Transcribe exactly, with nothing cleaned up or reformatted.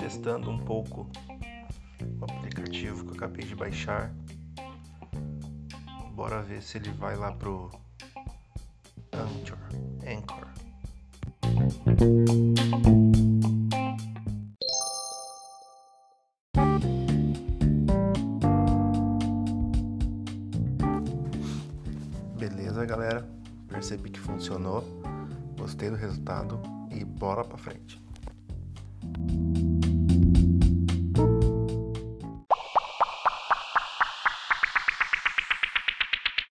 testando um pouco o aplicativo que eu acabei de baixar. Bora ver se ele vai lá pro Anchor. Anchor. Beleza, galera? Percebi que funcionou. Gostei do resultado e bora pra frente.